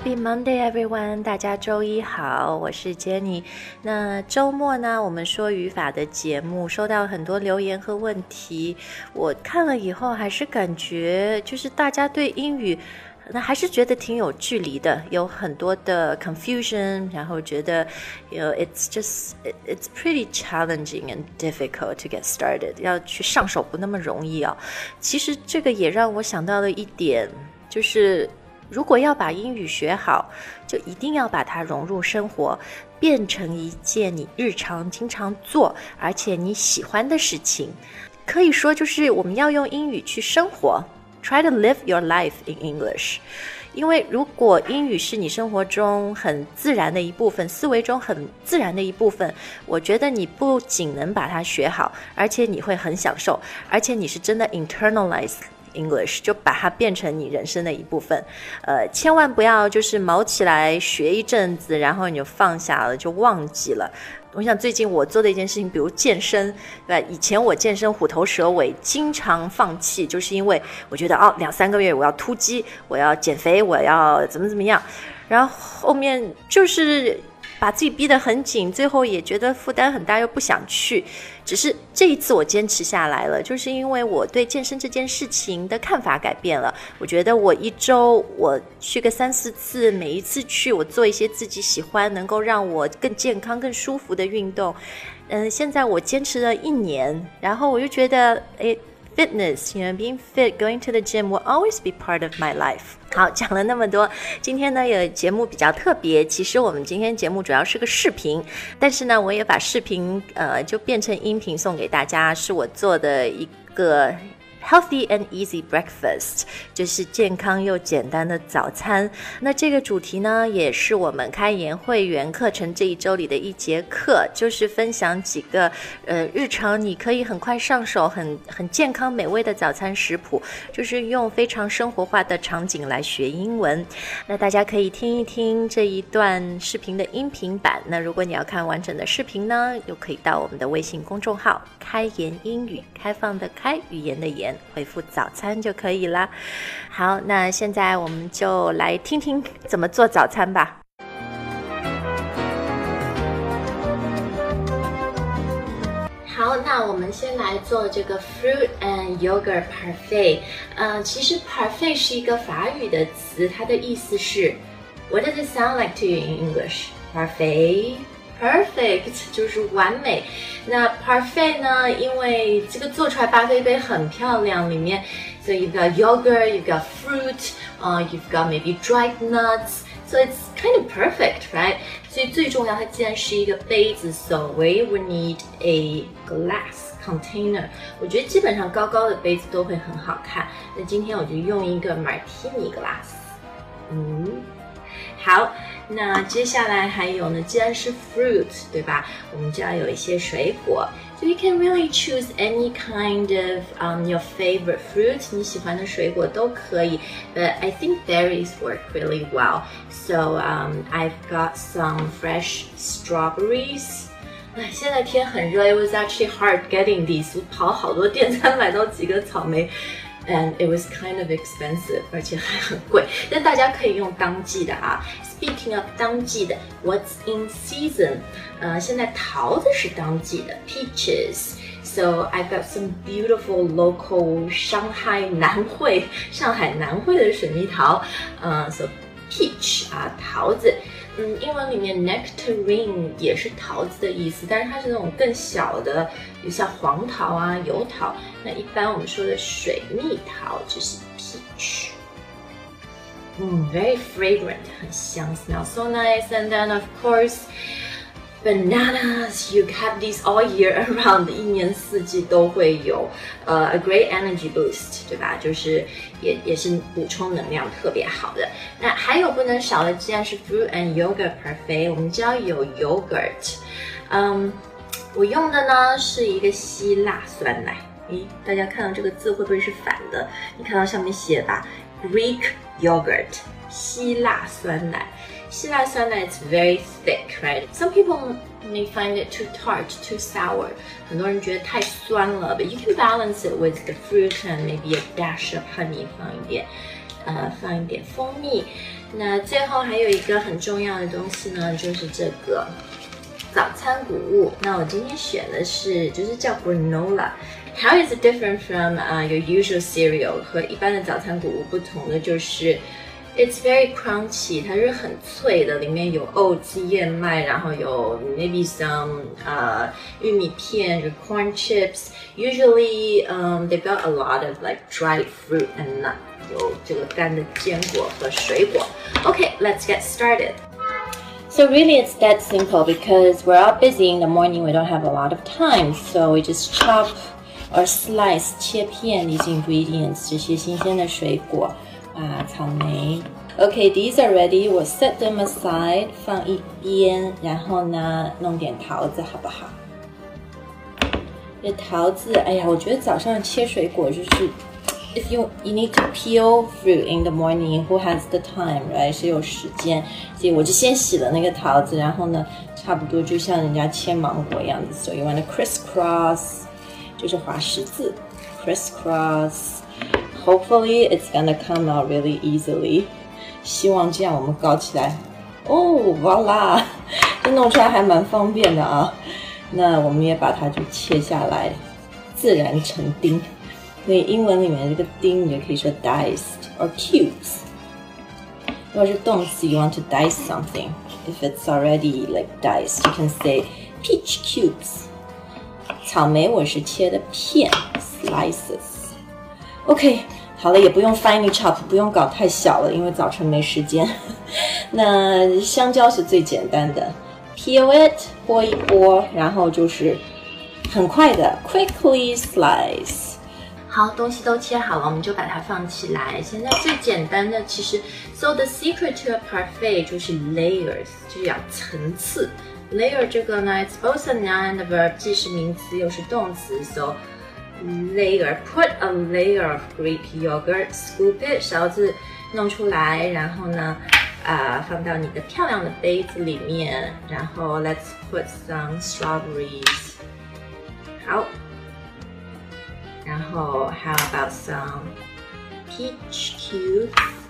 Happy Monday, everyone！ 大家周一好，我是 Jenny。那周末呢，我们说语法的节目收到很多留言和问题，我看了以后还是感觉就是大家对英语那还是觉得挺有距离的，有很多的 confusion， 然后觉得it's pretty challenging and difficult to get started， 要去上手不那么容易啊。其实这个也让我想到了一点，就是如果要把英语学好，就一定要把它融入生活，变成一件你日常经常做而且你喜欢的事情。可以说就是我们要用英语去生活，Try to live your life in English。 因为如果英语是你生活中很自然的一部分，思维中很自然的一部分，我觉得你不仅能把它学好，而且你会很享受，而且你是真的 internalize English， 就把它变成你人生的一部分。千万不要就是毛起来学一阵子，然后你就放下了，就忘记了。我想最近我做的一件事情，比如健身，对吧？以前我健身虎头蛇尾，经常放弃，就是因为我觉得2-3个月我要突击，我要减肥，我要怎么样，然后后面就是把自己逼得很紧，最后也觉得负担很大，又不想去。只是这一次我坚持下来了，就是因为我对健身这件事情的看法改变了。我觉得我一周我去个3-4次，每一次去我做一些自己喜欢能够让我更健康更舒服的运动。现在我坚持了1年，然后我就觉得fitness, being fit, going to the gym will always be part of my life. 好，讲了那么多，今天呢有节目比较特别，其实我们今天节目主要是个视频，但是呢我也把视频就变成音频送给大家，是我做的一个Healthy and easy breakfast， 就是健康又简单的早餐。那这个主题呢，也是我们开研会员课程这一周里的一节课，就是分享几个日常你可以很快上手、很健康美味的早餐食谱，就是用非常生活化的场景来学英文。那大家可以听一听这一段视频的音频版。那如果你要看完整的视频呢，又可以到我们的微信公众号开言英语，开放的开，语言的言，回复早餐就可以啦。好，那现在我们就来听听怎么做早餐吧。好，那我们先来做这个 fruit and yogurt parfait。其实 parfait 是一个法语的词，它的意思是 What does it sound like to you in English? Perfect， 就是完美。那 parfait 呢，因为这个做出来巴菲杯很漂亮，里面 so you've got yogurt, you've got fruit, you've got maybe dried nuts, so it's kind of perfect, right? 所以最重要，它既然是一个杯子 so we would need a glass container。 我觉得基本上高高的杯子都会很好看，那今天我就用一个 martini glass。好，那接下来还有呢，既然是 fruit， 对吧？我们就要有一些水果。So you can really choose any kind of your favorite fruit， 你喜欢的水果都可以。But I think berries work really well. So I've got some fresh strawberries. 现在天很热 ，It was actually hard getting these. 我跑好多店才买到几个草莓。And it was kind of expensive， 而且还很贵，但大家可以用当季的啊。Speaking of 当季的 ，What's in season？ 现在桃子是当季的 ，peaches。So I've got some beautiful local 上海南汇的水蜜桃，so peach 桃子。英文里面 nectarine 也是桃子的意思，但是它是那种更小的，有像黄桃啊、油桃。那一般我们说的水蜜桃就是 peach。Very fragrant， 很香 ，smells so nice. And then of course bananas, you have these all year around， 一年四季都会有。A great energy boost， 对吧？就是也是补充能量特别好的。那还有不能少的，既然是 fruit and yogurt parfait， 我们就要有 yogurt。我用的呢是一个希腊酸奶。大家看到这个字会不会是反的？你看到上面写吧 ，Greek yogurt， 希腊酸奶。希腊酸奶 it's very thick, right? Some people may find it too tart, too sour. 很多人觉得太酸了 ，but you can balance it with the fruit and maybe a dash of honey 放一点。 放一点蜂蜜。那最后还有一个很重要的东西呢，就是这个早餐谷物。那我今天选的是，就是叫 granola。How is it different from your usual cereal？ 和一般的早餐谷物不同的就是 ，it's very crunchy， 它是很脆的，里面有 oats 燕麦，然后有 maybe some 玉米片，有 corn chips。Usually they've got a lot of like dried fruit and nut， 有这个干的坚果和水果。Okay, let's get started.So really it's that simple because we're all busy in the morning, we don't have a lot of time, so we just chop or slice 切片 these ingredients 这些新鲜的水果草莓 Okay, these are ready, we'll set them aside 放一边，然后呢弄点桃子好不好？这桃子哎呀，我觉得早上切水果就是If you need to peel fruit in the morning, who has the time, right? 谁有时间？所以我就先洗了那个桃子，然后呢，差不多就像人家切芒果一样子。So you want to crisscross， 就是划十字 ，crisscross. Hopefully it's gonna come out really easily. 希望这样我们搞起来。哦 ，voila， 这弄出来还蛮方便的啊。那我们也把它就切下来，自然成丁。所以英文里面这个丁你就可以说 diced or cubes。如果是动词 you want to dice something. If it's already like diced, you can say peach cubes. 草莓我是切的片 slices. OK, 好了，也不用 finely chop， 不用搞太小了，因为早晨没时间。那香蕉是最简单的 ，peel it 剥一剥，然后就是很快的 quickly slice。好，东西都切好了，我们就把它放起来。现在最简单的其实 ，so the secret to a parfait 就是 layers， 就是要层次。layer 这个呢 ，it's both a noun and a verb， 既是名词又是动词。So layer, put a layer of Greek yogurt, scoop it， 勺子弄出来，然后呢，放到你的漂亮的杯子里面，然后 let's put some strawberries。好。然后 how about some peach cubes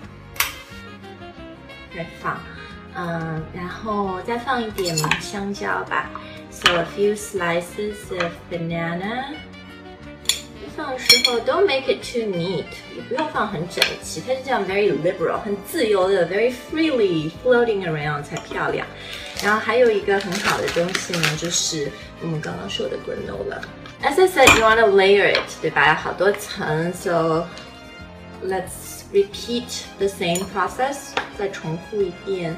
再放然后再放一点香蕉吧 so a few slices of banana 放的时候 don't make it too neat 也不用放很整齐它是这样 very liberal 很自由的 very freely floating around 才漂亮然后还有一个很好的东西呢就是我们刚刚说的 granola As I said, you want to layer it, 对吧？好多层 So let's repeat the same process. 再重复一遍。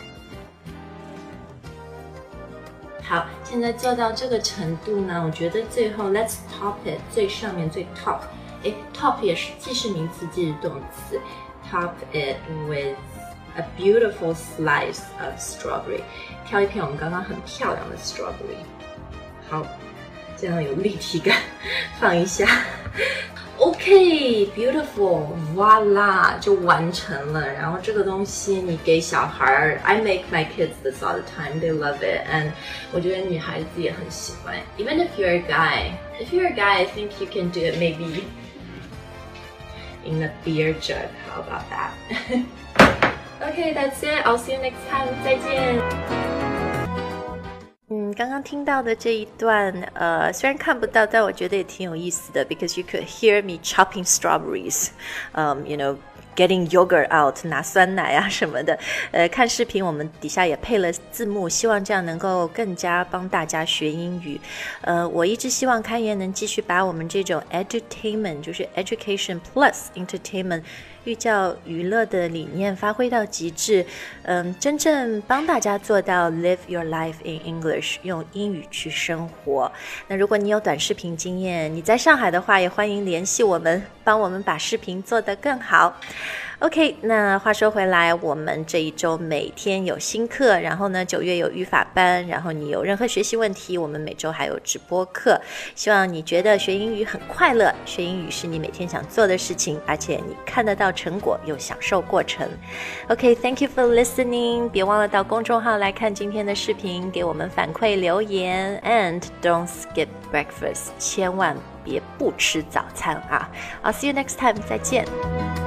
好，现在做到这个程度呢，我觉得最后 let's top it， 最上面最 top。top 也是既是名词既是动词。Top it with a beautiful slice of strawberry. 挑一片我们刚刚很漂亮的 strawberry。好。这样有立体感，放一下。OK, beautiful, voila， 就完成了。然后这个东西你给小孩 I make my kids this all the time, they love it. And 我觉得女孩子也很喜欢。Even if you're a guy, I think you can do it maybe in a beer jug. How about that? Okay, that's it. I'll see you next time. 再见。刚刚听到的这一段虽然看不到但我觉得也挺有意思的 because you could hear me chopping strawberries you know getting yogurt out 拿酸奶啊什么的看视频我们底下也配了字幕希望这样能够更加帮大家学英语我一直希望开言能继续把我们这种 edutainment 就是 education plus entertainment寓教于乐的理念发挥到极致真正帮大家做到 live your life in English 用英语去生活那如果你有短视频经验你在上海的话也欢迎联系我们帮我们把视频做得更好OK 那话说回来我们这一周每天有新课然后呢9月有语法班然后你有任何学习问题我们每周还有直播课希望你觉得学英语很快乐学英语是你每天想做的事情而且你看得到成果又享受过程 OK thank you for listening 别忘了到公众号来看今天的视频给我们反馈留言 and don't skip breakfast 千万别不吃早餐啊 I'll see you next time 再见